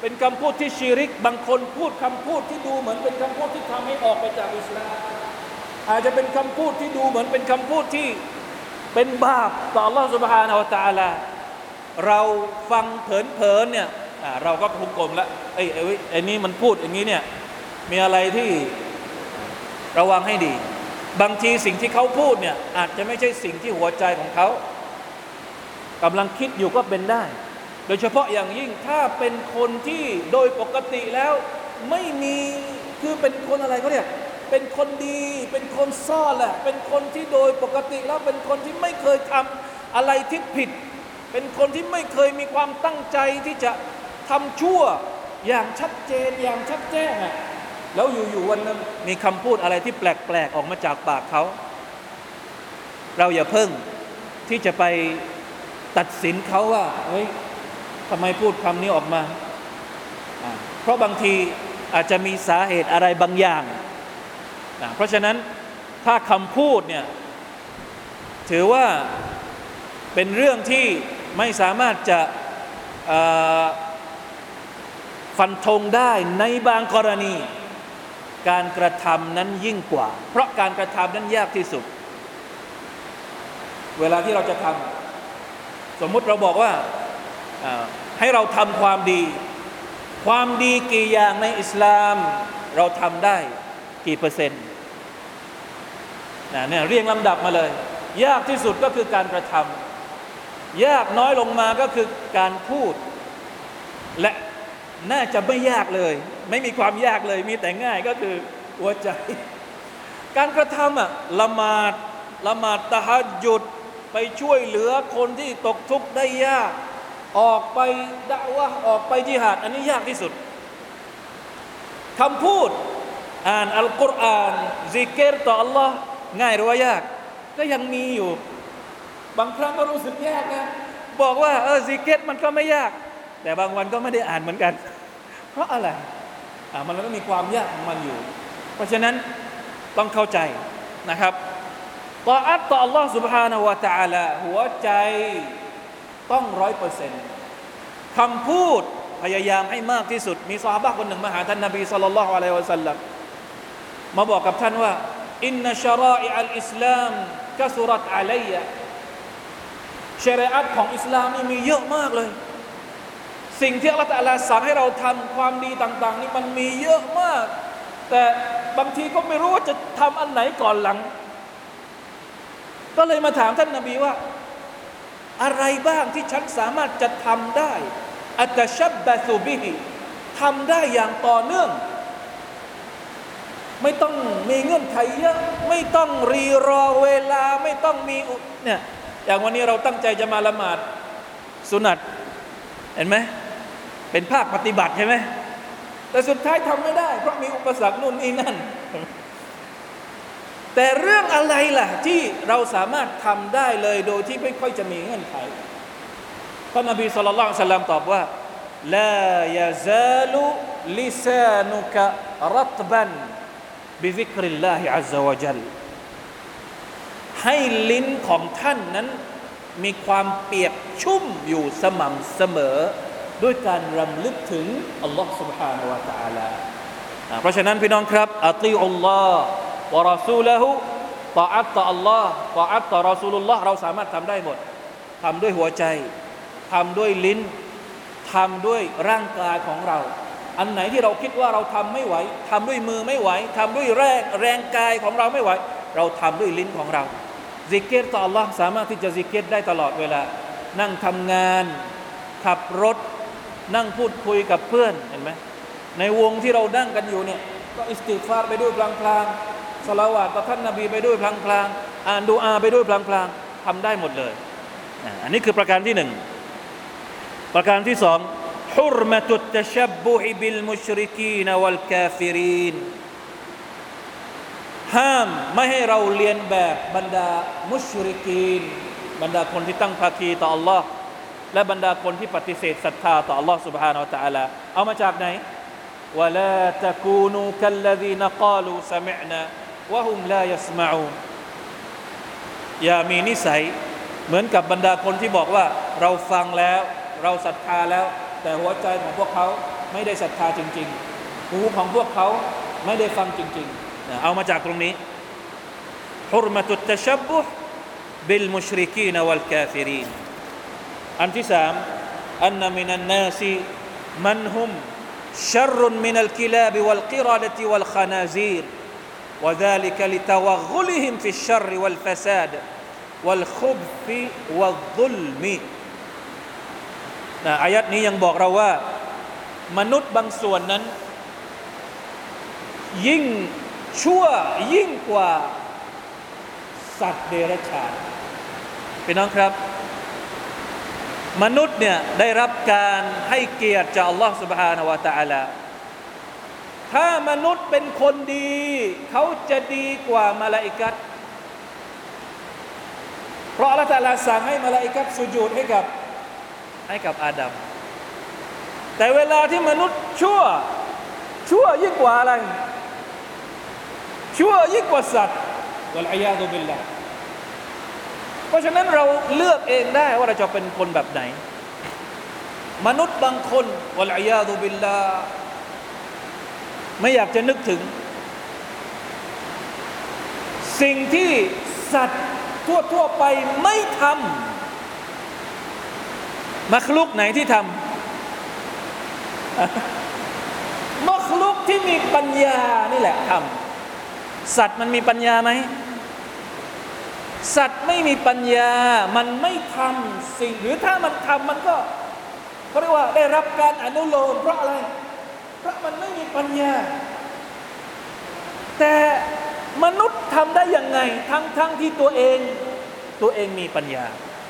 เป็นคำพูดที่ชิริกบางคนพูดคำพูดที่ดูเหมือนเป็นคำพูดที่ทำให้ออกไปจากอิสลามอาจจะเป็นคำพูดที่ดูเหมือนเป็นคำพูดที่เป็นบาปต่อ Allah سبحانه และ تعالى เราฟังเผลอๆเนี่ยเราก็หุกกลมแล้วไอ้ไอ้ไอ้นี่มันพูดอย่างนี้เนี่ยมีอะไรที่ระวังให้ดีบางทีสิ่งที่เขาพูดเนี่ยอาจจะไม่ใช่สิ่งที่หัวใจของเขากำลังคิดอยู่ก็เป็นได้โดยเฉพาะอย่างยิ่งถ้าเป็นคนที่โดยปกติแล้วไม่มีคือเป็นคนอะไรเขาเรียกเป็นคนดีเป็นคนซ่อนแหละเป็นคนที่โดยปกติแล้วเป็นคนที่ไม่เคยทำอะไรที่ผิดเป็นคนที่ไม่เคยมีความตั้งใจที่จะทำชั่วอย่างชัดเจนอย่างชัดแจ้งอ่ะแล้วอยู่ๆวันนึงมีคำพูดอะไรที่แปลกๆออกมาจากปากเขาเราอย่าเพิ่งที่จะไปตัดสินเขาว่าเฮ้ยทำไมพูดคำนี้ออกมาเพราะบางทีอาจจะมีสาเหตุอะไรบางอย่างเพราะฉะนั้นถ้าคำพูดเนี่ยถือว่าเป็นเรื่องที่ไม่สามารถจะฟันธงได้ในบางกรณีการกระทำนั้นยิ่งกว่าเพราะการกระทำนั้นยากที่สุดเวลาที่เราจะทำสมมุติเราบอกว่าให้เราทำความดีความดีกี่อย่างในอิสลามเราทำได้กี่เปอร์เซ็นต์เนี่ยเรียงลำดับมาเลยยากที่สุดก็คือการกระทำยากน้อยลงมาก็คือการพูดและน่าจะไม่ยากเลยไม่มีความยากเลยมีแต่ง่ายก็คือหัวใจการกระทำอ่ะละหมาดละหมาดตะฮัจญุดไปช่วยเหลือคนที่ตกทุกข์ได้ยากออกไปดะวะห์ออกไปญิฮาดอันนี้ยากที่สุดคำพูดอ่านอัลกุรอานซิกรต่อ Allah ง่ายหรือว่ายากก็ยังมีอยู่บางครั้งก็รู้สึกยากนะบอกว่าเออซิกรมันก็ไม่ยากแต่บางวันก็ไม่ได้อ่านเหมือนกันเพราะอะไรอ่ามันก็มีความยากของมันอยู่เพราะฉะนั้นต้องเข้าใจนะครับตออัตต่อ Allah سبحانه และ تعالى หัวใจต้องร้อยเปอร์เซ็นต์คำพูดพยายามให้มากที่สุดมีซอฮาบะห์คนหนึ่งมาหาท่านนบีศ็อลลัลลอฮุอะลัยฮิวะซัลลัมมาบอกกับท่านว่าอินนะชะรออิอัลอิสลามกะซุรัตอะลัยยะชะรีอะห์ของอิสลามนี่มีเยอะมากเลยสิ่งที่อัลเลาะห์ตะอาลาสั่งให้เราทำความดีต่างๆนี่มันมีเยอะมากแต่บางทีก็ไม่รู้ว่าจะทำอันไหนก่อนหลังก็เลยมาถามท่านนบีว่าอะไรบ้างที่ฉันสามารถจะทำได้อัตชับบะซุบิฮิทำได้อย่างต่อเนื่องไม่ต้องมีเงื่อนไขเยอะไม่ต้องรีรอเวลาไม่ต้องมีเนี่ยอย่างวันนี้เราตั้งใจจะมาละหมาดสุนัตเห็นไหมเป็นภาคปฏิบัติใช่ไหมแต่สุดท้ายทำไม่ได้เพราะมีอุปสรรคนู่นนี่นั่นแต่เรื่องอะไรล่ะที่เราสามารถทำได้เลยโดยที่ไม่ค่อยจะมีเงื่อนไขท่านนบีศ็อลลัลลอฮุอะลัยฮิวะซัลลัมตอบว่าลายะซาลุลิซานุกะรัตบันบิซิกริลลาฮิอัซซะวะญัลให้ลิ้นของท่านนั้นมีความเปียกชุ่มอยู่สม่ำเสมอด้วยการรำลึกถึงอัลลอฮฺ سبحانه และ تعالى เพราะฉะนั้นพี่น้องครับอัติอุลลอฮฺวะรอซูละฮูตออัตต่ออัลลอฮฺตออัตต่อรอซูลุลลอฮฺเราสามารถทำได้หมดทำด้วยหัวใจทำด้วยลิ้นทำด้วยร่างกายของเราอันไหนที่เราคิดว่าเราทำไม่ไหวทำด้วยมือไม่ไหวทำด้วยแรงแรงกายของเราไม่ไหวเราทำด้วยลิ้นของเราซิกรต่อ Allah สามารถที่จะซิกรได้ตลอดเวลานั่งทำงานขับรถนั่งพูดคุยกับเพื่อนเห็นไหมในวงที่เรานั่งกันอยู่เนี่ยก็อิสติฆฟารไปด้วยพลางๆศอลาวาตต่อท่านนบีไปด้วยพลางๆอ่านดุอาไปด้วยพลางๆทำได้หมดเลยอันนี้คือประการที่หนึ่งประการที่สองฮุรมะตุตตะชับบุฮิบิลมุชริกีนวัลกาฟิรินห้ามไม่ให้เราเรียนแบบบรรดามุชริกีนบรรดาคนที่ตั้งภาคีต่อ Allah และบรรดาคนที่ปฏิเสธศรัทธาต่อ Allah سبحانه และ تعالى เอามาจากไหนวะลาตะกูนูกัลลซีนกาลูซะมิอ์นาวะฮุมลายัสมะอูนอย่ามีนิสัยเหมือนกับบรรดาคนที่บอกว่าเราฟังแล้วเราศรัทธาแล้วแต่หัวใจของพวกเขาไม่ได้ศรัทธาจริงๆหูของพวกเขาไม่ได้ฟังจริงๆเอามาจากตรงนี้ฮุรมะตุตตะชับบุฮ์บิลมุชริกีนวัลกาฟิรีนอันที่สามอันมินันนาสมันฮุมชัรมินัลกิลาบวัลกิรอดะติวัลขนาซีรوذلك لتوغلهم في الشر والفساد والخبث والظلم นะอายัดนี้ยังบอกเราว่ามนุษย์บางส่วนนั้นยิ่งชั่วยิ่งกว่าสัตว์เดรัจฉานพี่น้องครับมนุษย์เนี่ยได้รับการให้เกียรติจากอัลลอฮฺ سبحانه และ تعالى ถ้ามนุษย์เป็นคนดีเขาจะดีกว่ามลาอิกะฮ์เพราะอัลลอฮฺ تعالى สั่งให้มลาอิกะฮ์สุญูดให้กับให้กับอาดัมแต่เวลาที่มนุษย์ชั่วชั่วยิ่งกว่าอะไรชั่วยิ่งกว่าสัตว์วัลอียาซุบิลลาห์เพราะฉะนั้นเราเลือกเองได้ว่าเราจะเป็นคนแบบไหนมนุษย์บางคนวัลอียาซุบิลลาห์ไม่อยากจะนึกถึงสิ่งที่สัตว์ทั่วๆไปไม่ทำมักลุกไหนที่ทำมักลุกที่มีปัญญานี่แหละทำสัตว์มันมีปัญญาไหมสัตว์ไม่มีปัญญามันไม่ทำสิ่งหรือถ้ามันทำมันก็เขาเรียกว่าได้รับการอนุโลมเพราะอะไรเพราะมันไม่มีปัญญาแต่มนุษย์ทำได้ยังไงทั้งทั้งที่ตัวเองตัวเองมีปัญญา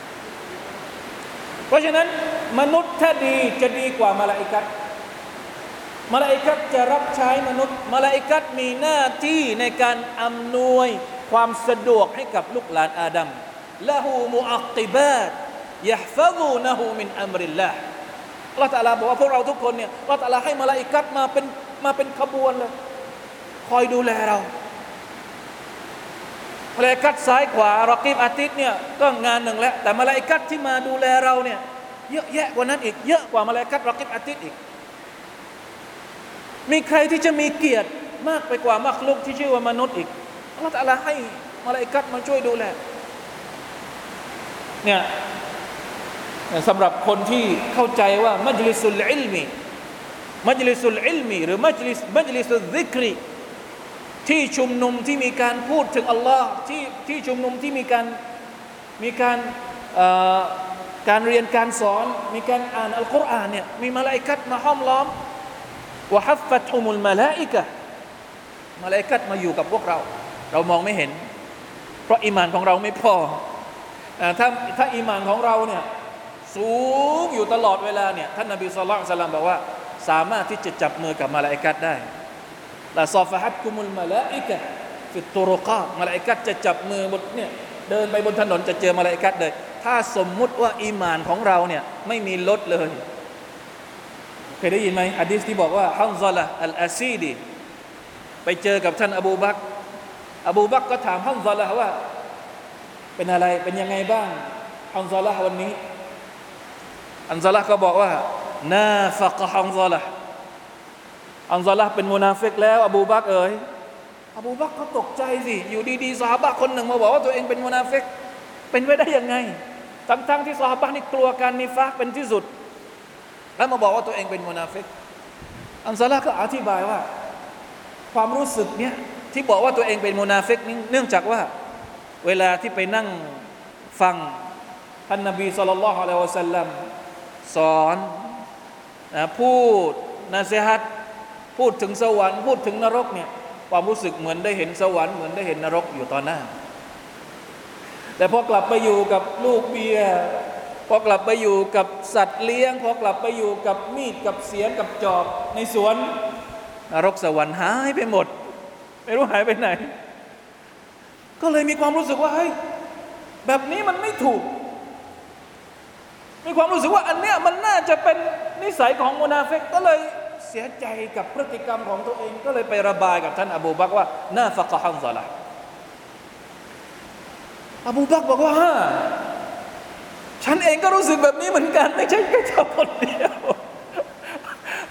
เพราะฉะนั้นมนุษย์ถ้าดีจะดีกว่ามลาอิกะฮ์มลาอิกะฮ์จะรับใช้มนุษย์มลาอิกะฮ์มีหน้าที่ในการอำนวยความสะดวกให้กับลูกหลานอาดัมละหูมุอักติบาตยะฮ์ฟะซูนะฮูมินอัมริลลาห์อัลเลาะห์ตะอาลาบอกว่าพวกเราทุกคนเนี่ยอัลเลาะห์ตะอาลาให้มลาอิกะฮ์มาเป็นมาเป็นขบวนเลยคอยดูแลเรามลาอิกะฮ์ซ้ายขวารอกีบอาติดเนี่ยก็งานหนึ่งแล้วแต่มลาอิกะฮ์ที่มาดูแลเราเนี่ยเยอะแยะกว่านั้นอีกเยอะกว่ามลาอิกะฮ์รอกีบอาติดอีกมีใครที่จะมีเกียรติมากไปกว่ามักลุกที่ชื่อว่ามนุษย์อีกอัลเลาะห์ตะอาลาให้มลาอิกะฮ์มาช่วยดูแลเนี่ยสำหรับคนที่เข้าใจว่ามัจลิสุลอิลมีมัจลิสุลอิลมีหรือมัจลิสมัจลิสุลซิกรีที่ชุมนุมที่มีการพูดถึงอัลลอฮ์ที่ที่ชุมนุมที่มีการมีการการเรียนการสอนมีการอ่านอัลกุรอานเนี่ยมีมลาอิกะฮ์มาห้อมล้อมวะฮัฟฟัตฮุมุลมะลาอิกะฮ์มลาอิกะฮ์มาอยู่กับพวกเราเรามองไม่เห็นเพราะอีหม่านของเราไม่พอถ้าถ้าอีหม่านของเราเนี่ยสูงอยู่ตลอดเวลาเนี่ยท่านนบีศ็อลลัลลอฮุอะลัยฮิวะซัลลัมบอกว่าสามารถที่จะจับมือกับมลาอิกะฮ์ได้ละซอฟะฮัตกุมุลมะลาอิกะฮ์ฟิตตุรุกาตมลาอิกะฮ์จะจับมือบนเนี่ยเดินไปบนถนนจะเจอมลาอิกะฮ์เลยถ้าสมมุติว่าอีหม่านของเราเนี่ยไม่มีลดเลยเคยได้ยินไหมหะดีษที่บอกว่าฮัมซะละห์อัลอาซีดีไปเจอกับท่านอบูบักรอบูบักรก็ถามฮัมซะละห์ว่าเป็นอะไรเป็นยังไงบ้างฮัมซะละห์วันนี้ฮัมซะละห์ก็บอกว่านาฟักฮัมซะละห์ฮัมซะละห์เป็นมุนาฟิกแล้วอบูบักรเอ๋ยอบูบักรก็ตกใจสิอยู่ดีๆซอฮาบะห์คนหนึ่งมาบอกว่าตัวเองเป็นมุนาฟิกเป็นไปได้ยังไงทั้งๆที่ซอฮาบะห์นี่กลัวการนิฟากเป็นที่สุดแล้วมาบอกว่าตัวเองเป็นมุนาฟิกอัมซะละห์ก็อธิบายว่าความรู้สึกเนี้ยที่บอกว่าตัวเองเป็นมุนาฟิกนี่เนื่องจากว่าเวลาที่ไปนั่งฟังท่านนบีศ็อลลัลลอฮุอะลัยฮิวะซัลลัมสอนนะพูดนะซีฮัตพูดถึงสวรรค์พูดถึงนรกเนี่ยความรู้สึกเหมือนได้เห็นสวรรค์เหมือนได้เห็นนรกอยู่ตอนหน้าแต่พอกลับไปอยู่กับลูกเบียร์พอกลับไปอยู่กับสัตว์เลี้ยงพอกลับไปอยู่กับมีดกับเสียมกับจอบในสวนนรกสวรรค์หายไปหมดไม่รู้หายไปไหนก็เลยมีความรู้สึกว่าเฮ้ยแบบนี้มันไม่ถูกมีความรู้สึกว่าอันเนี้ยมันน่าจะเป็นนิสัยของมุนาฟิกก็เลยเสียใจกับพฤติกรรมของตัวเองก็เลยไประบายกับท่านอบูบักรว่านาฟะกะฮัมซะละห์อบูบักรบอกว่าฉันเองก็รู้สึกแบบนี้เหมือนกันไม่ใช่แค่เจ้าคนเดียว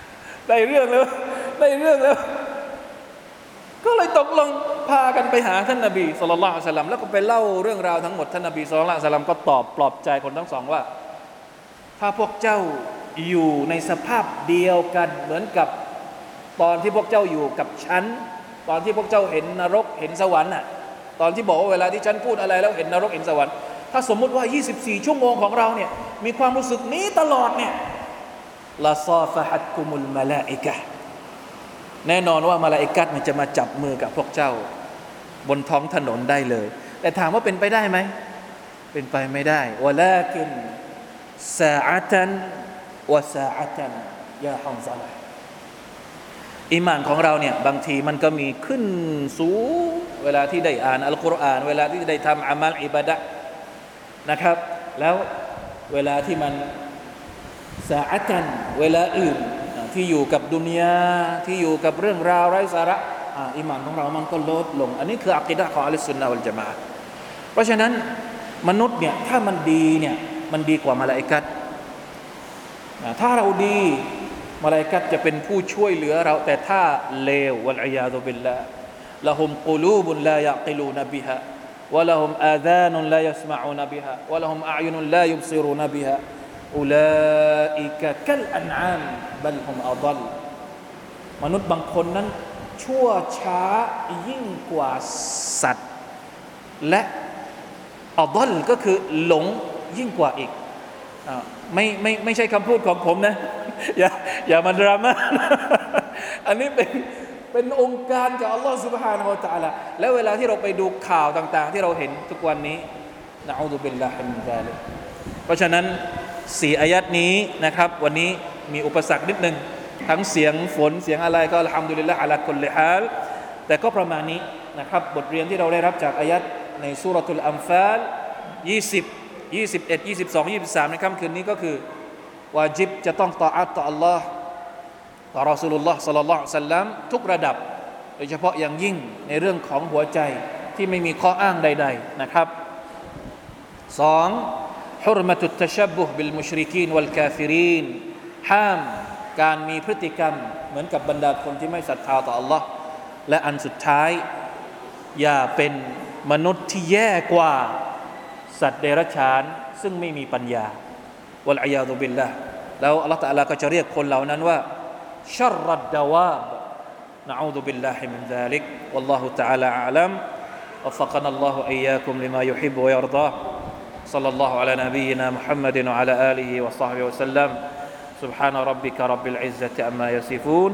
ได้เรื่องแล้วได้เรื่องแล้วก็เลยตกลงพากันไปหาท่านนบีศ็อลลัลลอฮุอะลัยฮิวะซัลลัมแล้วก็ไปเล่าเรื่องราวทั้งหมดท่านนบีศ็อลลัลลอฮุอะลัยฮิวะซัลลัมก็ตอบปลอบใจคนทั้งสองว่าถ้าพวกเจ้าอยู่ในสภาพเดียวกันเหมือนกับตอนที่พวกเจ้าอยู่กับฉันตอนที่พวกเจ้าเห็นนรกเห็นสวรรค์น่ะตอนที่บอกว่าเวลาที่ฉันพูดอะไรแล้วเห็นนรกเห็นสวรรค์ถ้าสมมุติว่ายี่สิบสี่ชั่วโมงของเราเนี่ยมีความรู้สึกนี้ตลอดเนี่ยลาซาฟะฮัตกุมุลมะลาอิกะฮ์แน่นอนว่ามลาอิกัตมันจะมาจับมือกับพวกเจ้าบนท้องถนนได้เลยแต่ถามว่าเป็นไปได้ไหมเป็นไปไม่ได้วะลากินซาอะตันวะซาอะตันยาฮัมซะละอีหม่านของเราเนี่ยบางทีมันก็มีขึ้นสูงเวลาที่ได้อ่านอัลกุรอานเวลาที่ได้ทำอามัลอิบาดะห์นะครับแล้วเวลาที่มันซาอะตันเวลาอื่นที่อยู่กับดุนยาที่อยู่กับเรื่องราวไร้สาระอ่าอีหม่านของเรามันก็ลดลงอันนี้คืออะกีดะห์ของอะห์ลุสซุนนะฮ์วัลญะมาอะฮ์เพราะฉะนั้นมนุษย์เนี่ยถ้ามันดีเนี่ยมันดีกว่ามลาอิกัตถ้าเราดีมลาอิกัตจะเป็นผู้ช่วยเหลือเราแต่ถ้าเลววัลอียาซุบิลลาห์ละฮุมกุลูบุนลายักิลูนบิฮาวะละฮุมอาซานุนลายัสมะอูนบิฮาวะละฮุมอะอ์ยุนุนลายุบซิรูนบิฮาอุลาอิกะกัลอันอามบัลฮุมอัฎัลมนุษย์บางคนนั้นชั่วช้ายิ่งกว่าสัตว์และอัฎัลก็คือหลงยิ่งกว่าอีกไม่ไม่ไม่ใช่คำพูดของผมนะอย่าอย่ามาดราม่าอันนี้เป็นเป็นองค์การจากอัลลอฮฺ سبحانه และ تعالى แล้วเวลาที่เราไปดูข่าวต่างๆที่เราเห็นทุกวันนี้นะอูซุบิลลาฮิมินซาลิกเพราะฉะนั้นสี่อายัดนี้นะครับวันนี้มีอุปสรรคนิดนึงทั้งเสียงฝนเสียงอะไรก็อัลฮัมดุลิลลาฮ์อะลากุลลิฮาลแต่ก็ประมาณนี้นะครับบทเรียนที่เราได้รับจากอายัดในซูเราะตุลอัมฟาลยี่สิบ ยี่สิบเอ็ด ยี่สิบสอง ยี่สิบสามในค่ำคืนนี้ก็คือวาญิบจะต้องตออะห์ต่ออัลลอฮ์ต่อรอซูลุลลอฮ์ศ็อลลัลลอฮุอะลัยฮิวะซัลลัมทุกระดับโดยเฉพาะอย่างยิ่งในเรื่องของหัวใจที่ไม่มีข้ออ้างใดๆนะครับสองحرمة التشبه بالمشركين والكافرين ห้ามการมีพฤติกรรมเหมือนกับบรรดาคนที่ไม่ศรัทธาต่อ Allah และอันสุดท้ายอย่าเป็นมนุษย์ที่แย่กว่าสัตว์เดรัจฉานซึ่งไม่มีปัญญาวัลอียาซุบิลลาห์แล้วอัลเลาะห์ตะอาลาก็จะเรียกคนเหล่านั้นว่าชัรรัดดาวาบนะอูซุบิลลาฮิมินซาลิกวัลลอฮุตะอาลาอะลัมวัฟฟะกะนัลลอฮุอียาคุมลิมายุฮิบบุวะยัรฎอصلى الله على نبينا محمد وعلى آله وصحبه وسلم سبحان ربك رب العزة عما يصفون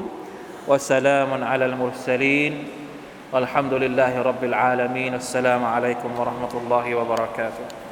وسلام على المرسلين والحمد لله رب العالمين السلام عليكم ورحمة الله وبركاته